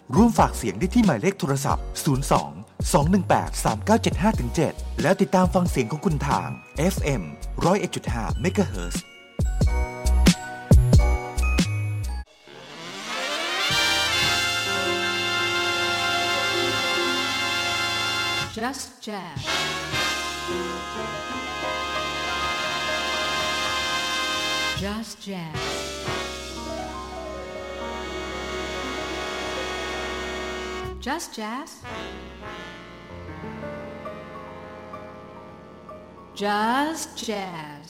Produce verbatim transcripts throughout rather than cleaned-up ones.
ร่วมฝากเสียงได้ที่หมายเลขโทรศัพท์ศูนย์ สอง สอง หนึ่ง แปด สาม เก้า เจ็ด ห้า เจ็ด แล้วติดตามฟังเสียงของคุณทาง เอฟ เอ็ม หนึ่งศูนย์เอ็ดจุดห้า เมกะเฮิรตซ์ Just Jazz Just Jazz Just Jazz Just Jazz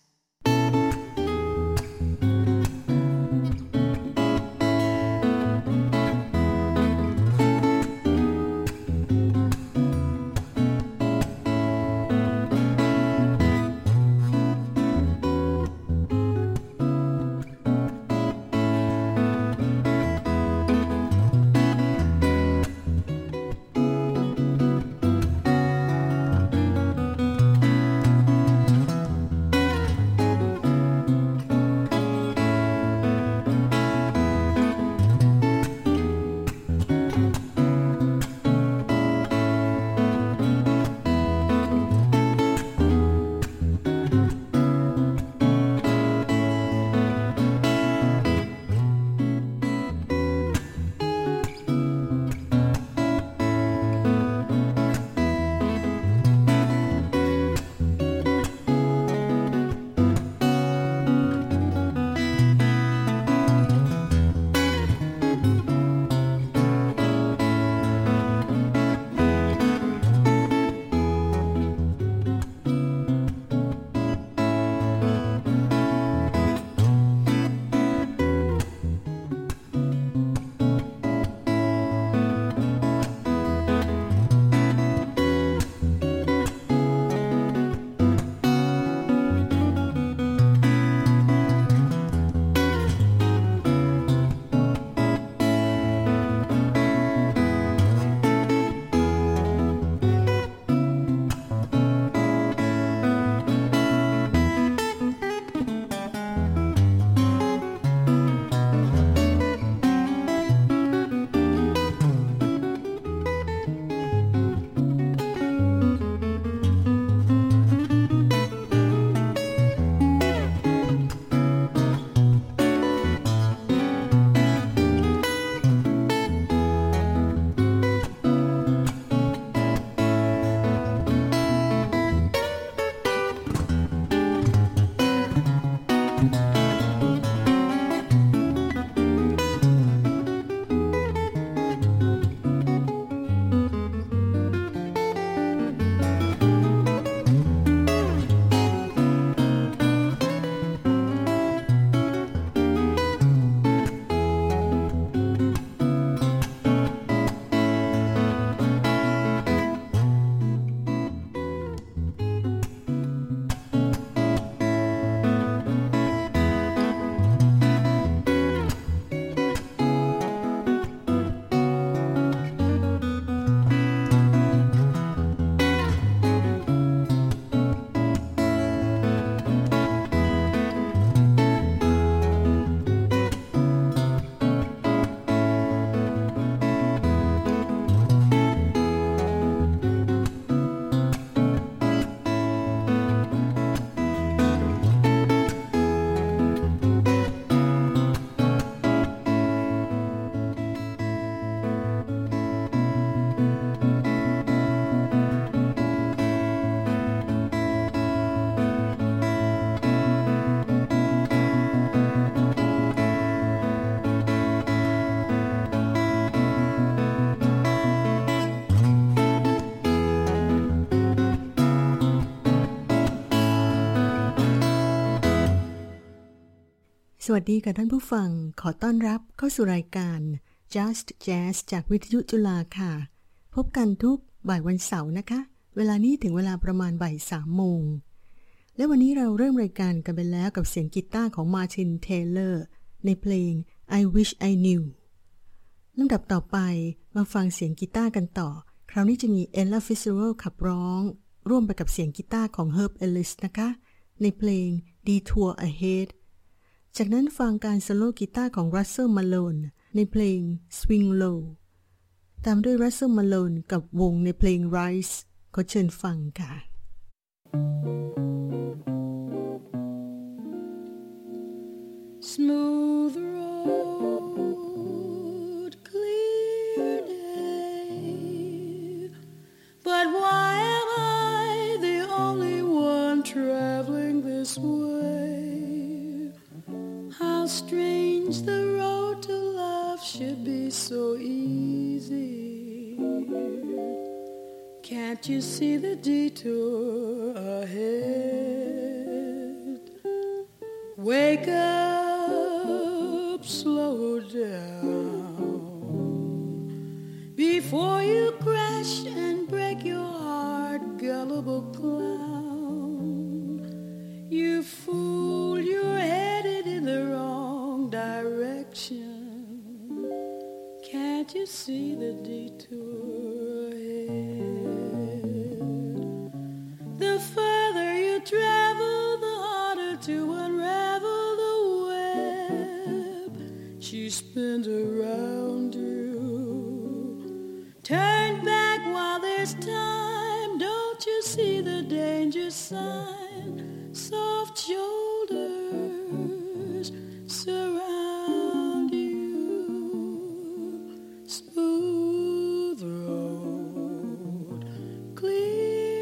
สวัสดีค่ะท่านผู้ฟังขอต้อนรับเข้าสู่รายการ Just Jazz จากวิทยุจุฬาค่ะพบกันทุกบ่ายวันเสาร์นะคะเวลานี้ถึงเวลาประมาณบ่ายสามโมงและวันนี้เราเริ่มรายการกันไปแล้วกับเสียงกีตาร์ของมาร์ติน เทเลอร์ในเพลง I Wish I Knew ลำดับต่อไปมาฟังเสียงกีตาร์กันต่อคราวนี้จะมี Ella Fitzgerald ขับร้องร่วมไปกับเสียงกีตาร์ของ Herb Ellis นะคะในเพลง Detour Ahead จากนั้นฟังการโซโล่กีตาร์ของ Russell Malone ในเพลง Swing Low ตามด้วย Russell Malone กับวงในเพลง Rise ขอเชิญฟังค่ะ Smooth road, clear day, but why am I the only one traveling this way? How strange the road to love should be so easy. Can't you see the detour ahead? Wake up, slow down before you crash and break your heart, gullible clown. You fool, you're headed in the wrong direction. Can't you see the detour ahead? The further you travel, the harder to unravel the web she spins around you. Turn back while there's time. Don't you see the danger sign? Soft shoulders surround you. Smooth road, clear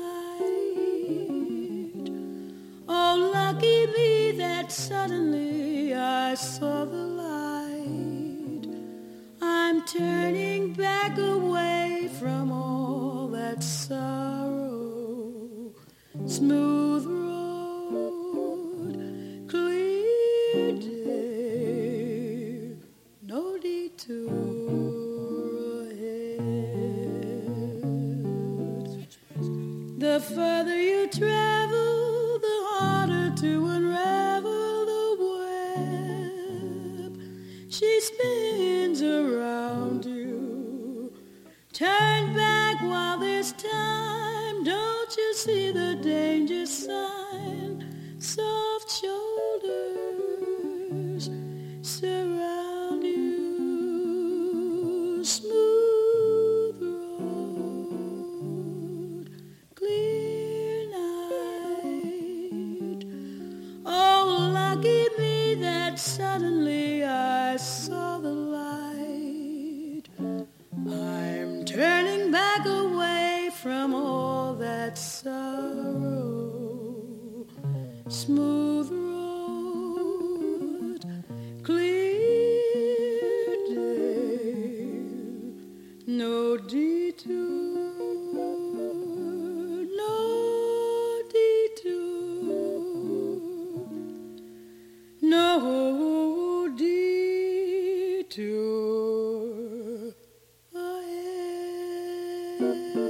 night. Oh, lucky me that suddenly I saw the light. I'm turning back away from all that sorrow. Smooth road, clear day, no detour ahead. The further you travel, the harder to unravel the web she spins around you. Turn back while there's time. Don't you see the danger sign? Soft shoulders surround you. Smooth road, clear night. Oh, lucky me that suddenly I saw the light. I'm turning back away from all that sorrow. Smooth road, clear day, no detour, no detour, no detour ahead.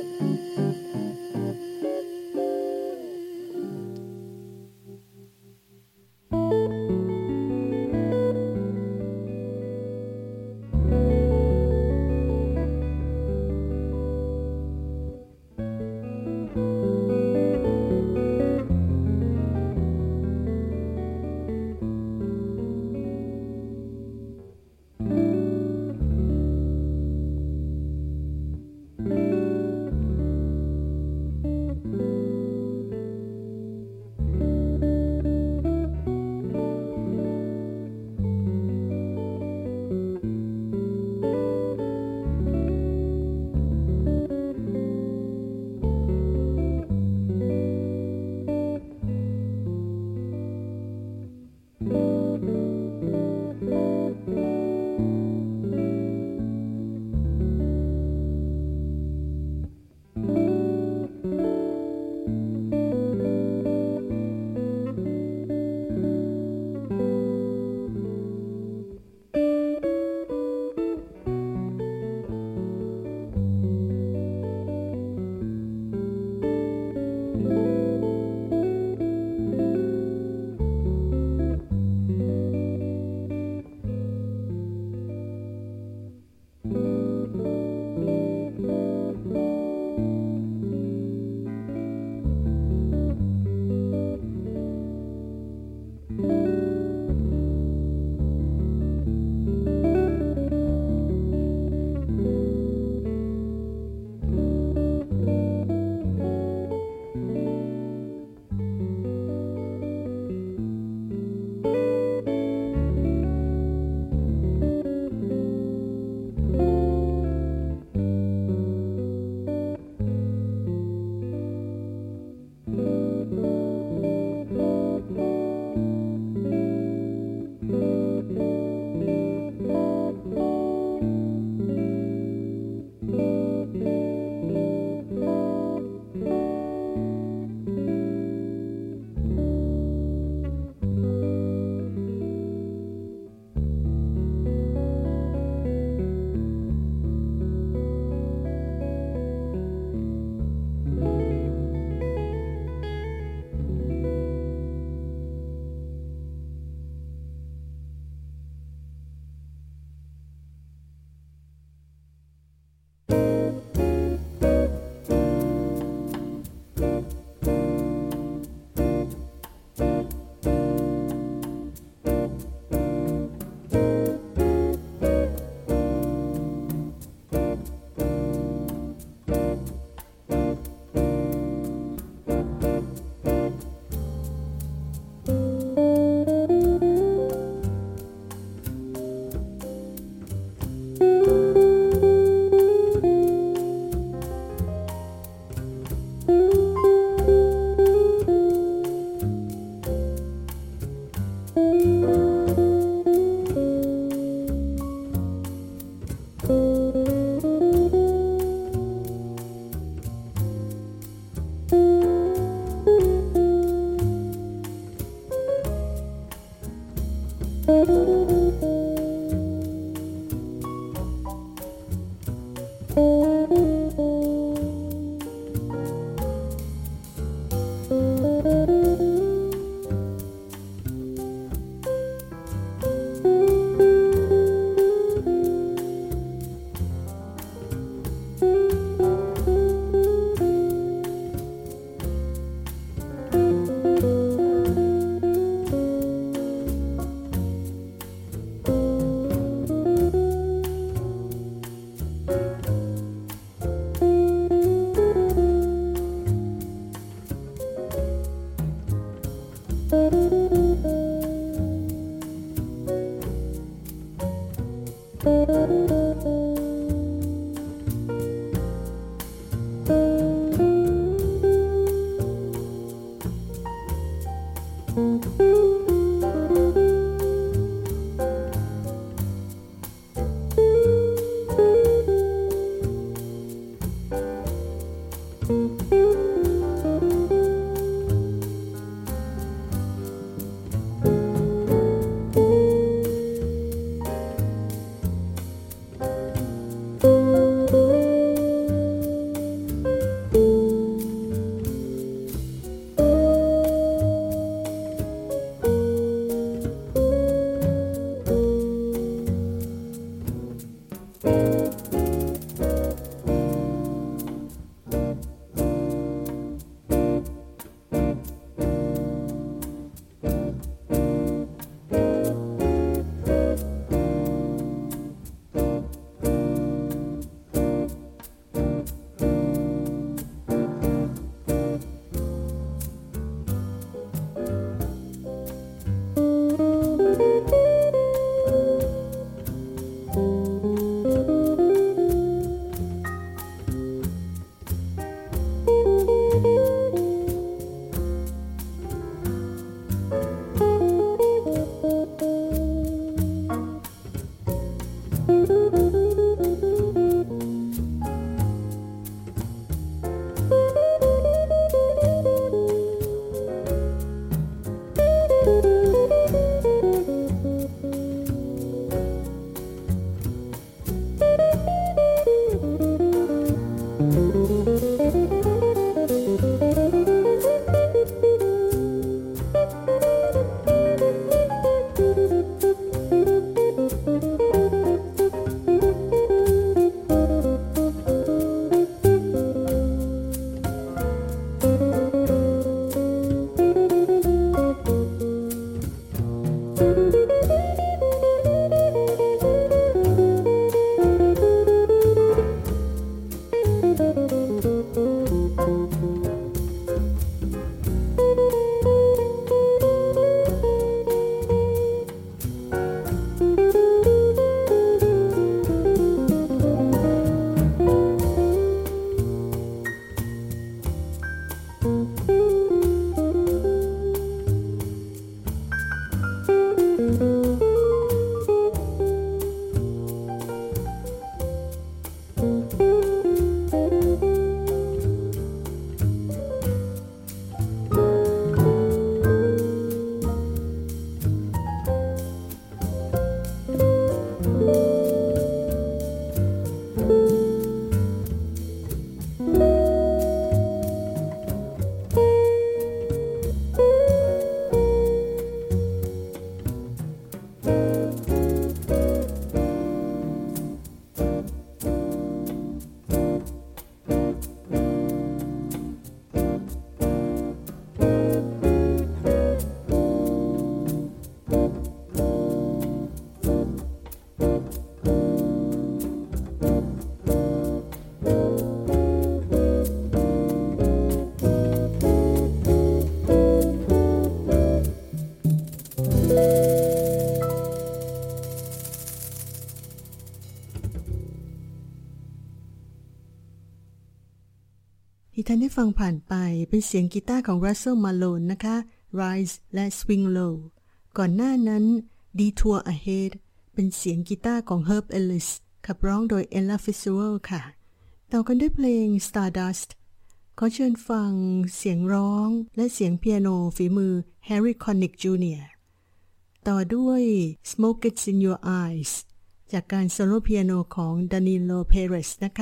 ที่ท่านได้ฟังผ่านไปเป็นเสียงกีตาร์ของ Russell Malone นะคะ Rise และ Swing Low ก่อนหน้านั้น Detour Ahead เป็นเสียงกีตาร์ของ Herb Ellis ขับร้องโดย Ella Fitzgerald ค่ะต่อกันด้วยเพลง Stardust ขอเชิญฟังเสียงร้องและเสียงเปียโนฝีมือ Harry Connick จูเนียร์ ต่อด้วย Smoke Gets in Your Eyes จากการโซโล่เปียโนของ Danilo Perez นะคะ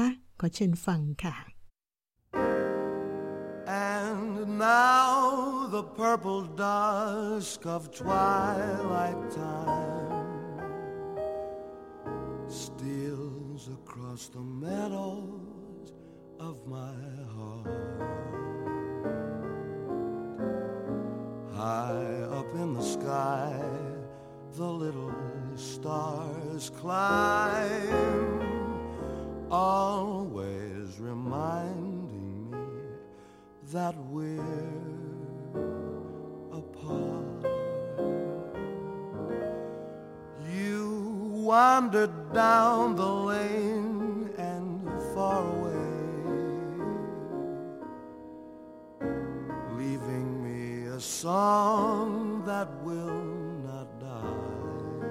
อเชิญฟังค่ะ And now the purple dusk of twilight time steals across the meadows of my heart. High up in the sky, the little stars climb, always reminding me that we're apart. You wandered down the lane and far away, leaving me a song that will not die.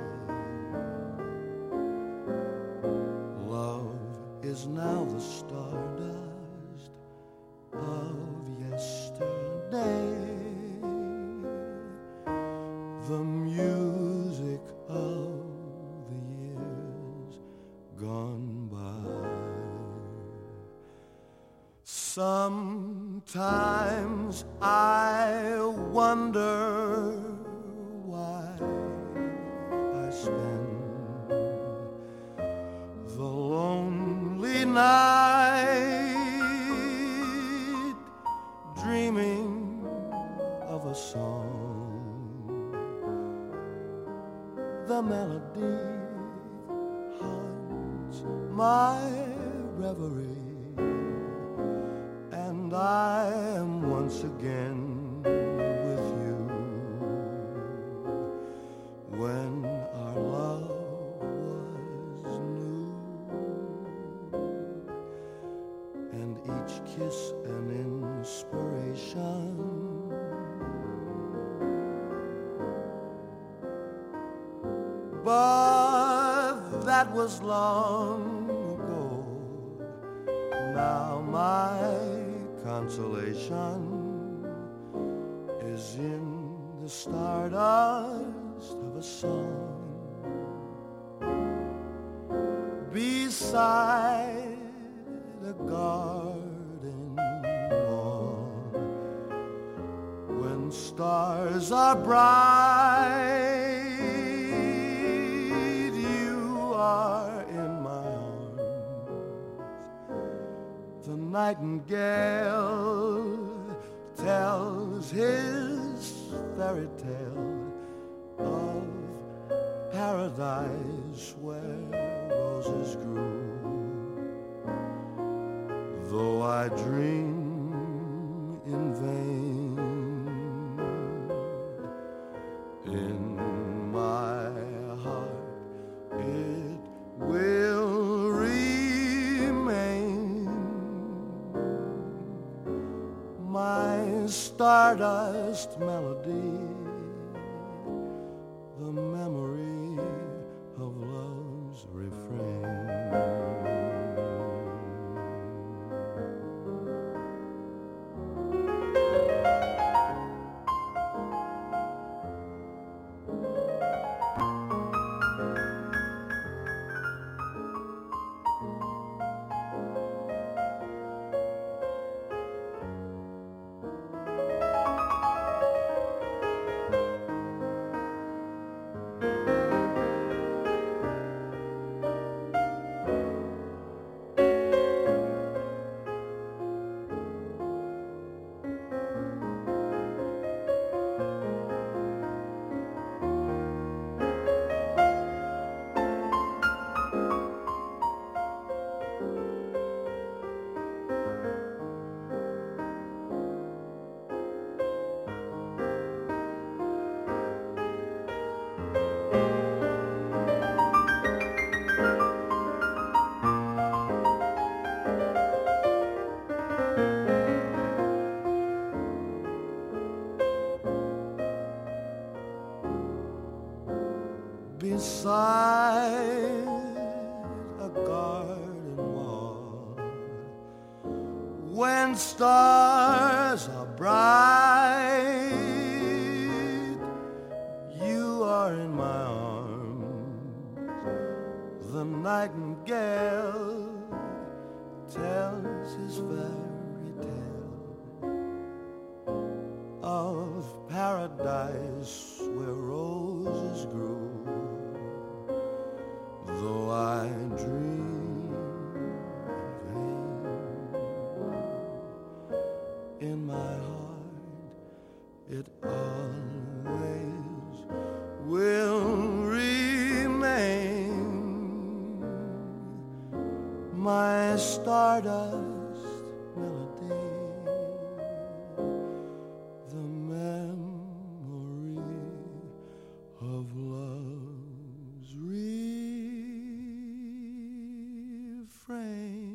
Love is now the stardust of yesterday, the music of the years gone by. Sometimes I wonder why I spend the lonely night dreaming of a song. The melody haunts my reverie, and I am once again with you. When our love was new, and each kiss an inspiration, but that was long ago. Now my consolation is in the stardust of a song beside a garden wall. When stars are bright, you are in my arms. The nightingale tells his fairy tale of paradise where roses grew. Though I dream in vain, in my heart it will remain, my stardust melody, the memory of love's refrain. Beside a garden wall, when stars are bright, you are in my arms. The nightingale tells my stardust melody, the memory of love's refrain.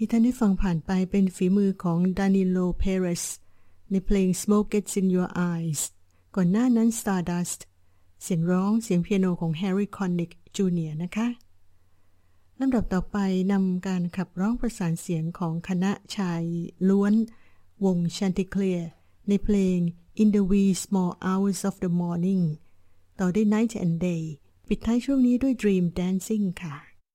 ที่ท่านได้ฟังผ่านไปเป็นฝีมือของ Danilo Perez ในเพลง Smoke Gets in Your Eyes ก่อนหน้านั้น Stardust เสียงร้องเสียงเปียโนของ Harry Connick จูเนียร์ นะคะลำดับต่อไปนำการขับร้องประสานเสียงของคณะชายล้วนวง Chanticleer ในเพลง In the Wee Small Hours of the Morning ต่อด้วย Night and Day ปิดท้ายช่วงนี้ด้วย Dream Dancing ค่ะ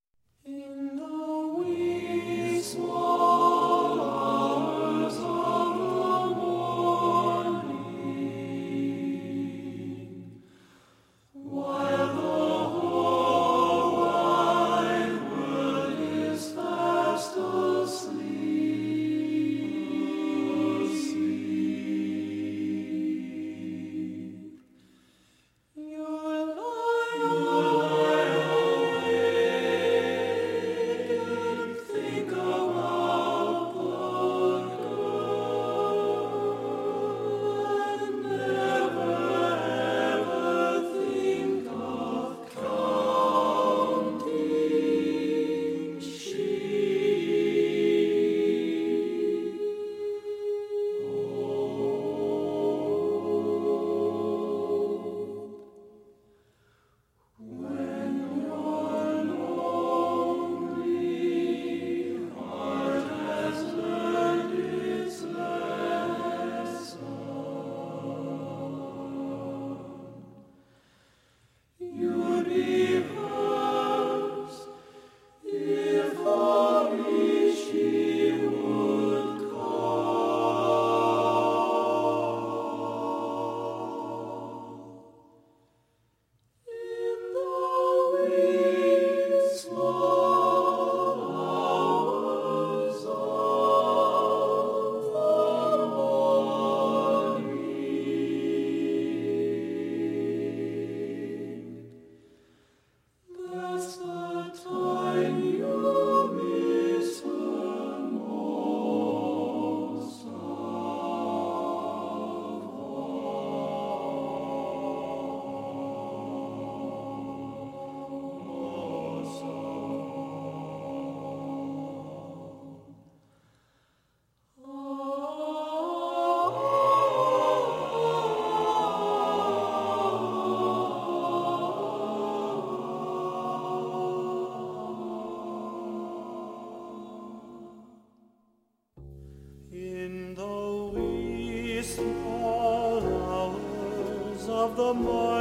Of the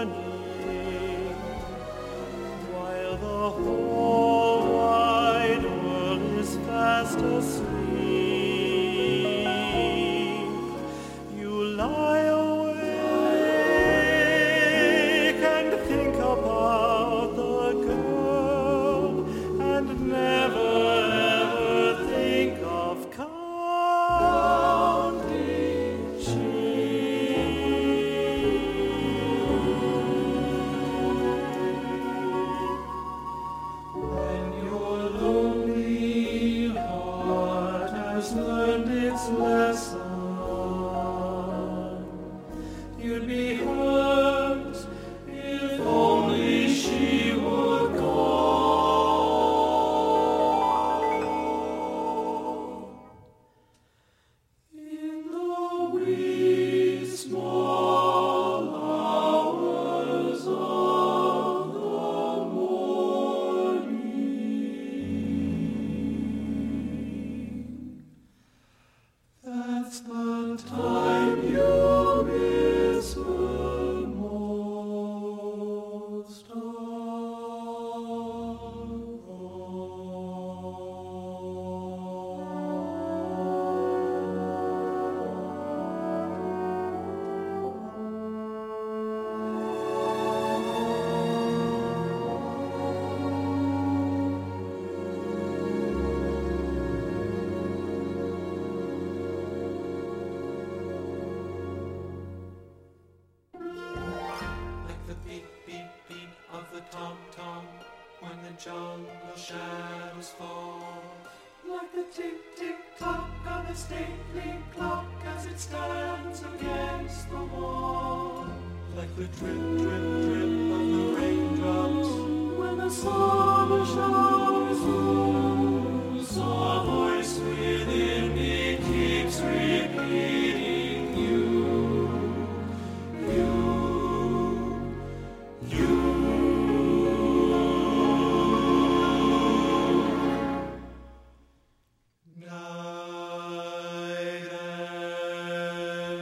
morning, while the whole wide world is fast asleep, you lie awake and think about the girl and never ever think of counting lesson, you'd be hurt if only she would go. In the wee small hours of the morning, that's the time you miss her most of tom-tom when the jungle shadows fall, like the tick-tick-tock of a stately clock as it stands against the wall, like the drip-drip-drip of the raindrops when the summer showers fall. Saw a voice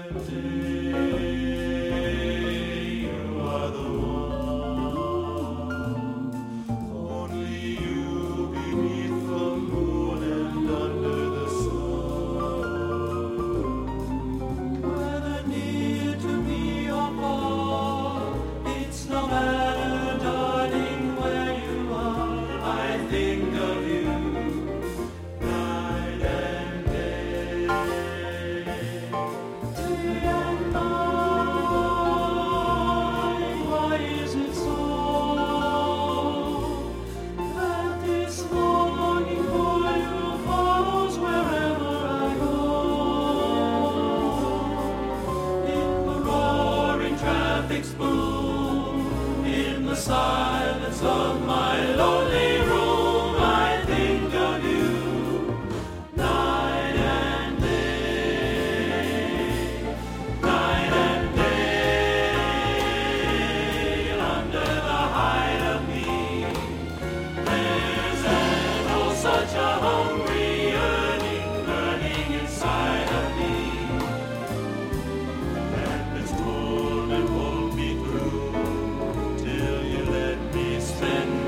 Spend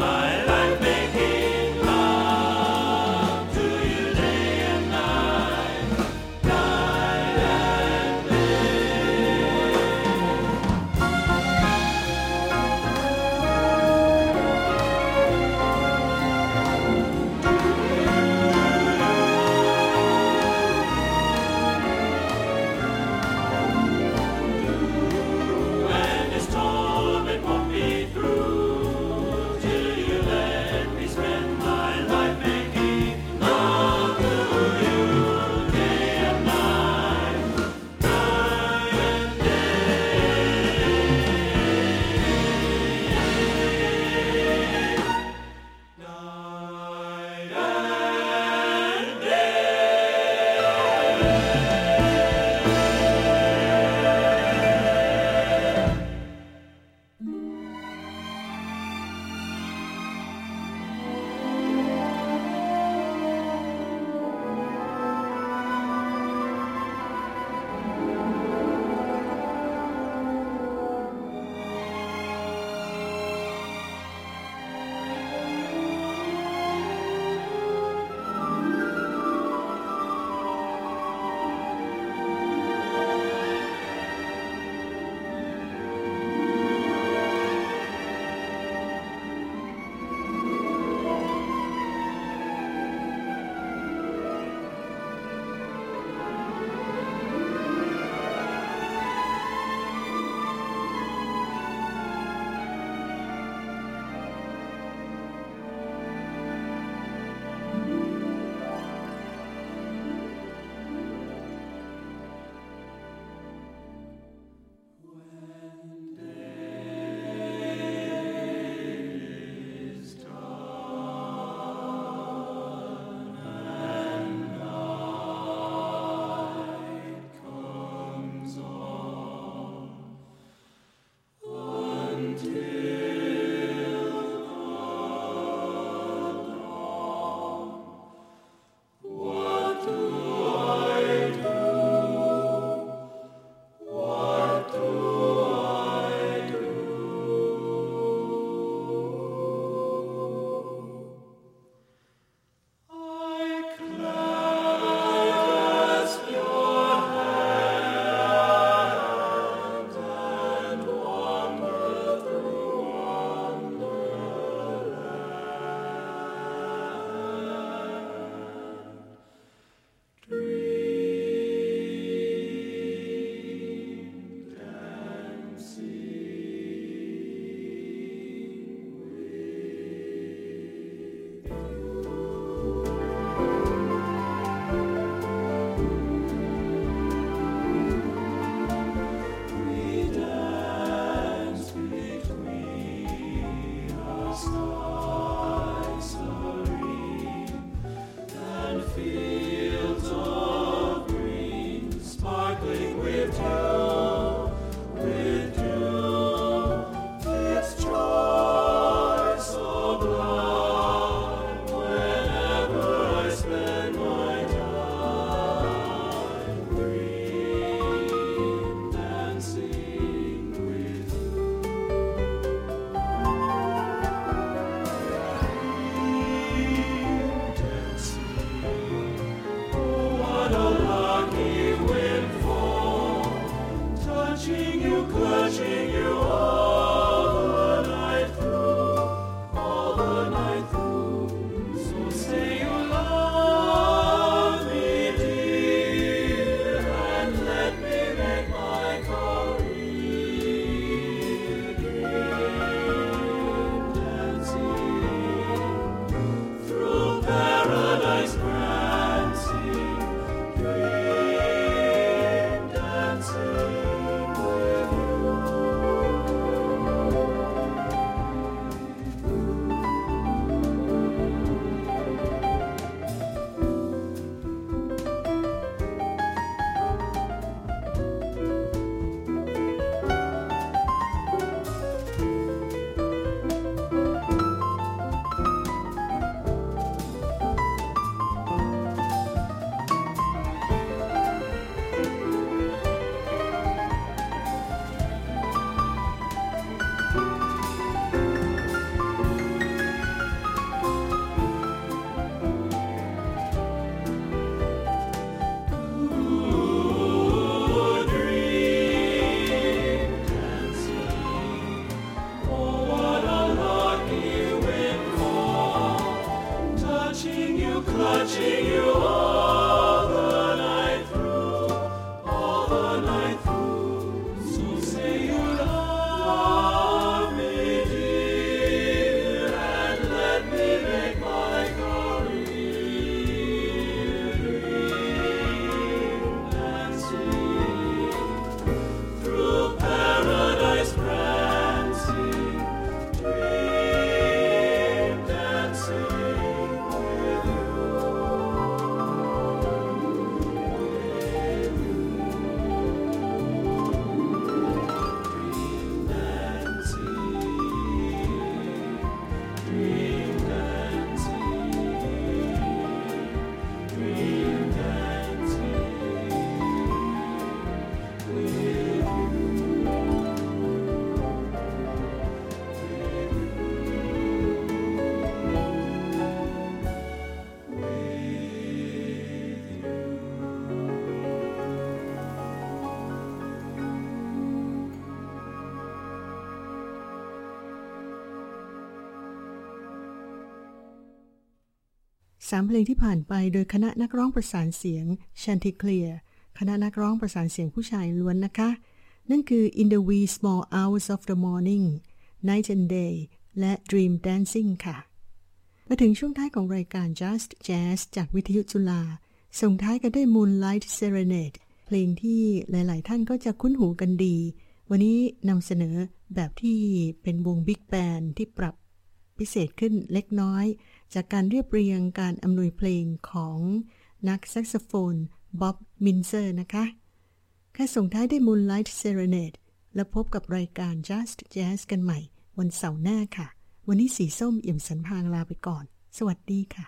สามเพลงที่ผ่านไปโดยคณะนักร้องประสานเสียง Chanticleer คณะนักร้องประสานเสียงผู้ชายล้วนนะคะนั่นคือ In the Wee Small Hours of the Morning Night and Day และ Dream Dancing ค่ะมาถึงช่วงท้ายของรายการ Just Jazz จากวิทยุจุฬาส่งท้ายกันด้วย Moonlight Serenade เพลงที่หลายๆท่านก็จะคุ้นหูกันดีวันนี้นำเสนอแบบที่เป็นวงบิ๊กแบนด์ที่ปรับพิเศษขึ้นเล็กน้อยจากการเรียบเรียงการอำนวยเพลงของนักแซกโซโฟนบ๊อบมินเซอร์นะคะแค่ส่งท้ายด้วย Moonlight Serenade แล้วพบกับรายการ Just Jazz กันใหม่วันเสาร์หน้าค่ะวันนี้สีส้มเอี่ยมสันพางลาไปก่อนสวัสดีค่ะ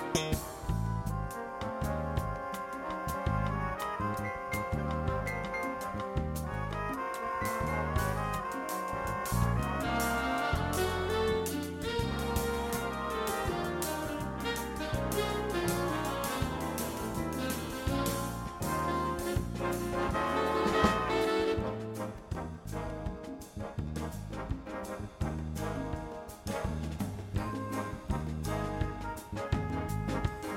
เ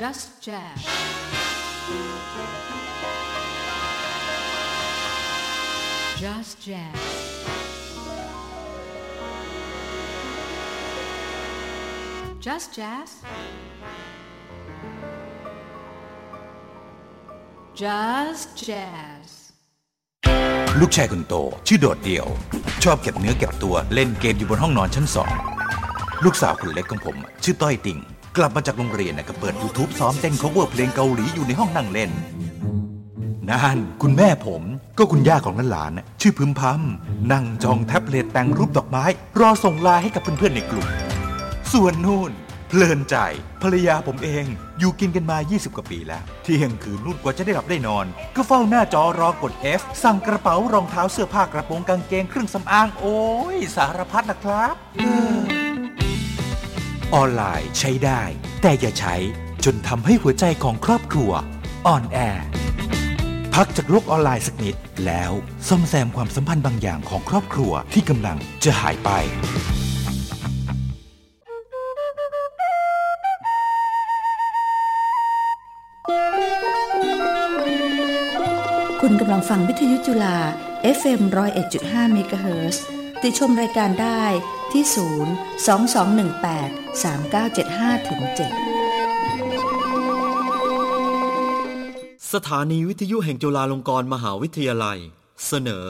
Just Jazz. Just Jazz. Just Jazz. Just Jazz. ลูกชายคนโตชื่อโดดเดี่ยวชอบเก็บเนื้อเก็บตัวเล่นเกมอยู่บนห้องนอนชั้นสองลูกสาวคนเล็กของผมชื่อต้อยติ่งกลับมาจากโรงเรียนก็เปิด YouTube ซ้อมเต้น cover เพลงเกาหลีอยู่ในห้องนั่งเล่นนั่นคุณแม่ผมก็คุณย่าของหลานๆชื่อพึมพำนั่งจ้องแท็บเล็ตแต่งรูปดอกไม้รอส่งไลน์ให้กับเพื่อนๆในกลุ่มส่วนนู่นเพลินใจภรรยาผมเองอยู่กินกันมายี่สิบกว่าปีแล้วเที่ยงคืนนู่นกว่าจะได้หลับได้นอนก็เฝ้าหน้าจอรอกด F สั่งกระเป๋ารองเท้าเสื้อผ้ากระโปรงกางเกงเครื่องสำอางโอ้ยสารพัดนะครับออนไลน์ใช้ได้แต่อย่าใช้จนทำให้หัวใจของครอบครัวอ่อนแอพักจากโลกออนไลน์สักนิดแล้วซ่อมแซมความสัมพันธ์บางอย่างของครอบครัวที่กำลังจะหายไปคุณกำลังฟังวิทยุจุฬา เอฟ เอ็ม หนึ่งศูนย์เอ็ดจุดห้า เมกะเฮิรตซ์ติดชมรายการได้ที่ศูนย์ สอง สอง หนึ่ง แปด สาม เก้า เจ็ด ห้า เจ็ดสถานีวิทยุแห่งจุฬาลงกรณ์มหาวิทยาลัยเสนอ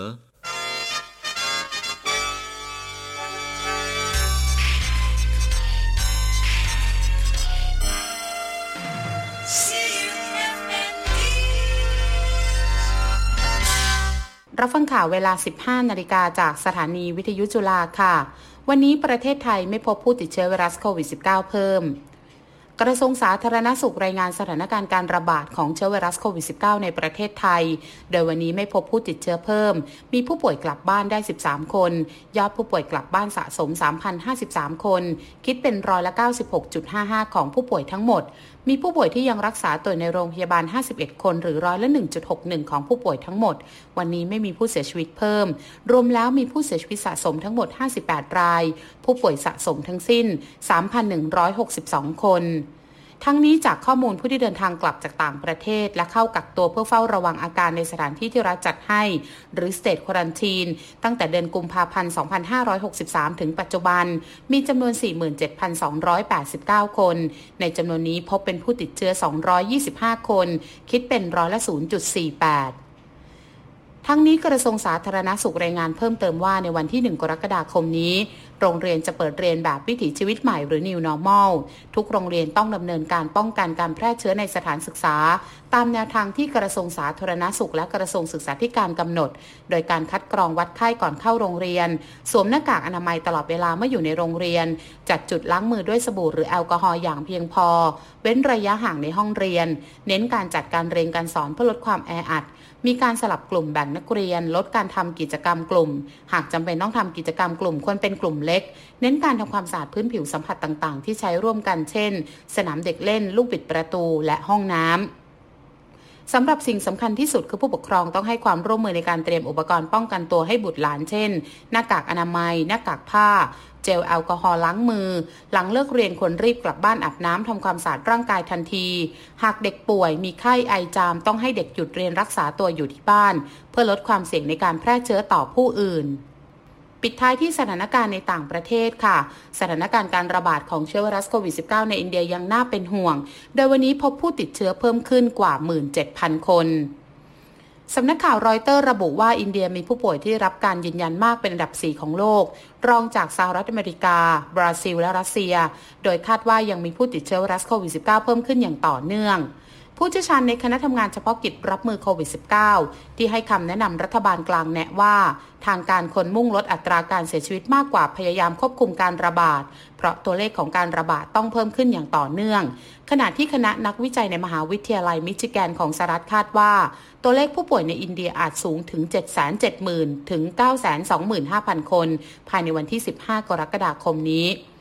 รับฟังข่าวเวลา สิบห้านาฬิกาจากสถานีวิทยุจุฬาค่ะวันนี้ประเทศไทยไม่พบผู้ติดเชื้อไวรัสโควิด สิบเก้า เพิ่มกระทรวงสาธารณสุขรายงานสถานการณ์การระบาดของเชื้อไวรัสโควิด สิบเก้า ในประเทศไทยโดยวันนี้ไม่พบผู้ติดเชื้อเพิ่มมีผู้ป่วยกลับบ้านได้สิบสามคนยอดผู้ป่วยกลับบ้านสะสม สามพันห้าสิบสาม คนคิดเป็นร้อยละ เก้าสิบหกจุดห้าห้า ของผู้ป่วยทั้งหมดมีผู้ป่วยที่ยังรักษาตัวในโรงพยาบาลห้าสิบเอ็ดคนหรือร้อยละ หนึ่งจุดหกหนึ่ง ของผู้ป่วยทั้งหมดวันนี้ไม่มีผู้เสียชีวิตเพิ่มรวมแล้วมีผู้เสียชีวิตสะสมทั้งหมดห้าสิบแปดรายผู้ป่วยสะสมทั้งสิ้น สามพันหนึ่งร้อยหกสิบสอง คนทั้งนี้จากข้อมูลผู้ที่เดินทางกลับจากต่างประเทศและเข้ากักตัวเพื่อเฝ้าระวังอาการในสถานที่ที่รัฐจัดให้หรือ State Quarantine ตั้งแต่เดือนกุมภาพันธ์ สองพันห้าร้อยหกสิบสาม ถึงปัจจุบันมีจำนวน สี่หมื่นเจ็ดพันสองร้อยแปดสิบเก้า คนในจำนวนนี้พบเป็นผู้ติดเชื้อ สองร้อยยี่สิบห้า คนคิดเป็นร้อยละ ศูนย์จุดสี่แปดทั้งนี้กระทรวงสาธารณสุขรายงานเพิ่มเติมว่าในวันที่หนึ่งกรกฎาคมนี้โรงเรียนจะเปิดเรียนแบบวิถีชีวิตใหม่หรือ New Normal ทุกโรงเรียนต้องดำเนินการป้องกันการแพร่เชื้อในสถานศึกษาตามแนวทางที่กระทรวงสาธารณสุขและกระทรวงศึกษาธิการกำหนดโดยการคัดกรองวัดไข้ก่อนเข้าโรงเรียนสวมหน้ากากอนามัยตลอดเวลาเมื่ออยู่ในโรงเรียนจัดจุดล้างมือด้วยสบู่หรือแอลกอฮอล์อย่างเพียงพอเว้นระยะห่างในห้องเรียนเน้นการจัดการเรียนการสอนเพื่อลดความแออัดมีการสลับกลุ่มแบ่งนักเรียนลดการทำกิจกรรมกลุ่มหากจำเป็นต้องทำกิจกรรมกลุ่มควรเป็นกลุ่มเล็กเน้นการทำความสะอาดพื้นผิวสัมผัสต่างๆที่ใช้ร่วมกันเช่นสนามเด็กเล่นลูกบิดประตูและห้องน้ำสำหรับสิ่งสำคัญที่สุดคือผู้ปกครองต้องให้ความร่วมมือในการเตรียมอุปกรณ์ป้องกันตัวให้บุตรหลานเช่นหน้ากากอนามัยหน้ากากผ้าเจลแอลกอฮอล์ล้างมือหลังเลิกเรียนควรรีบกลับบ้านอาบน้ำทำความสะอาดร่างกายทันทีหากเด็กป่วยมีไข้ไอจามต้องให้เด็กหยุดเรียนรักษาตัวอยู่ที่บ้านเพื่อลดความเสี่ยงในการแพร่เชื้อต่อผู้อื่นปิดท้ายที่สถานการณ์ในต่างประเทศค่ะสถานการณ์การระบาดของเชื้อไวรัสโควิด สิบเก้า ในอินเดียยังน่าเป็นห่วงโดยวันนี้พบผู้ติดเชื้อเพิ่มขึ้นกว่า หนึ่งหมื่นเจ็ดพัน คนสำนักข่าวรอยเตอร์ระบุว่าอินเดียมีผู้ป่วยที่รับการยืนยันมากเป็นอันดับสี่ของโลกรองจากสหรัฐอเมริกาบราซิลและรัสเซียโดยคาดว่ายังมีผู้ติดเชื้อไวรัสโควิด สิบเก้า เพิ่มขึ้นอย่างต่อเนื่องผู้เชี่ยวชาญในคณะทำงานเฉพาะกิจรับมือโควิด สิบเก้า ที่ให้คำแนะนำรัฐบาลกลางแนะว่าทางการควรมุ่งลดอัตราการเสียชีวิตมากกว่าพยายามควบคุมการระบาดเพราะตัวเลขของการระบาดต้องเพิ่มขึ้นอย่างต่อเนื่องขณะที่คณะนักวิจัยในมหาวิทยาลัยมิชิแกนของสหรัฐคาดว่าตัวเลขผู้ป่วยในอินเดียอาจสูงถึง เจ็ดแสนเจ็ดหมื่น ถึง เก้าแสนสองหมื่นห้าพัน คนภายในวันที่สิบห้ากรกฎาคมนี้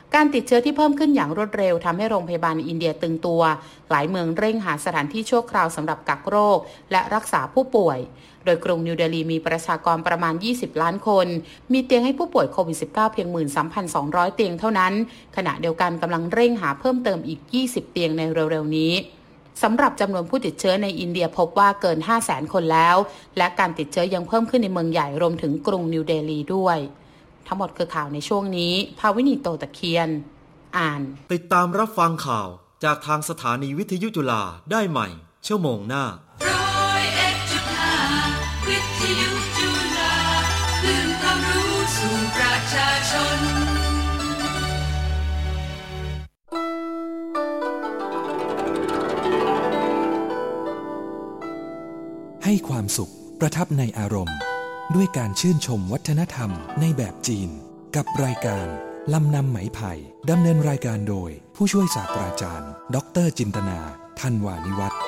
การติดเชื้อที่เพิ่มขึ้นอย่างรวดเร็วทำให้โรงพยาบาลในอินเดียตึงตัวหลายเมืองเร่งหาสถานที่ชั่วคราวสำหรับกักโรคและรักษาผู้ป่วยโดยกรุงนิวเดลีมีประชากรประมาณยี่สิบล้านคนมีเตียงให้ผู้ป่วยโควิด สิบเก้า เพียง หนึ่งหมื่นสามพันสองร้อย เตียงเท่านั้นขณะเดียวกันกำลังเร่งหาเพิ่มเติมอีกยี่สิบเตียงในเร็วๆนี้สำหรับจำนวนผู้ติดเชื้อในอินเดียพบว่าเกิน ห้าแสน คนแล้วและการติดเชื้อยังเพิ่มขึ้นในเมืองใหญ่รวมถึงกรุงนิวเดลีด้วยทั้งหมดคือข่าวในช่วงนี้ภาวินีโตตะเคียนอ่านติดตามรับฟังข่าวจากทางสถานีวิทยุจุฬาได้ใหม่ชั่วโมงหน้าวิทยุจุฬาคลื่นความรู้สู่ประชาชนให้ความสุขประทับในอารมณ์ด้วยการชื่นชมวัฒนธรรมในแบบจีนกับรายการลำนำไหมไผ่ดำเนินรายการโดยผู้ช่วยศาสตราจารย์ดรจินตนาธันวานิวัฒน์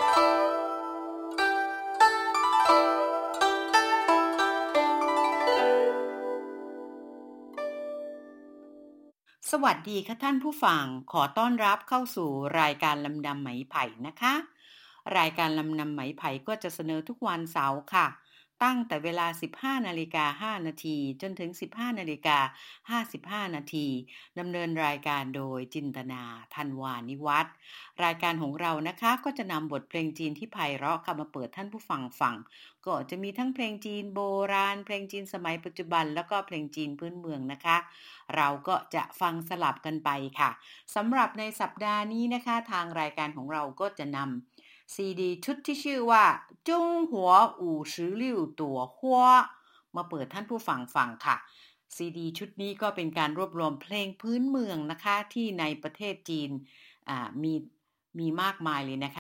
สวัสดีค่ะท่านผู้ฟังขอต้อนรับเข้าสู่รายการลำนำไหมไผ่นะคะรายการลำนำไหมไผ่ก็จะเสนอทุกวันเสาร์ค่ะตั้งแต่เวลา สิบห้านาฬิกาห้านาทีจนถึง สิบห้านาฬิกาห้าสิบห้านาทีดำเนินรายการโดยจินตนาธันวานิวัฒน์รายการของเรานะคะก็จะนำบทเพลงจีนที่ไพเราะมาเปิดท่านผู้ฟังฟังก็จะมีทั้งเพลงจีนโบราณเพลงจีนสมัยปัจจุบันแล้วก็เพลงจีนพื้นเมืองนะคะเราก็จะฟังสลับกันไปค่ะสำหรับในสัปดาห์นี้นะคะทางรายการของเราก็จะนำซีดีชุดที่ชื่อว่าจงหัวอู่สิบหกตัวหัวมาเปิดท่านผู้ฟังฟังค่ะซีดีชุดนี้ก็เป็นการรวบรวมเพลงพื้นเมืองนะคะที่ในประเทศจีนอ่ามีมีมากมายเลยนะคะ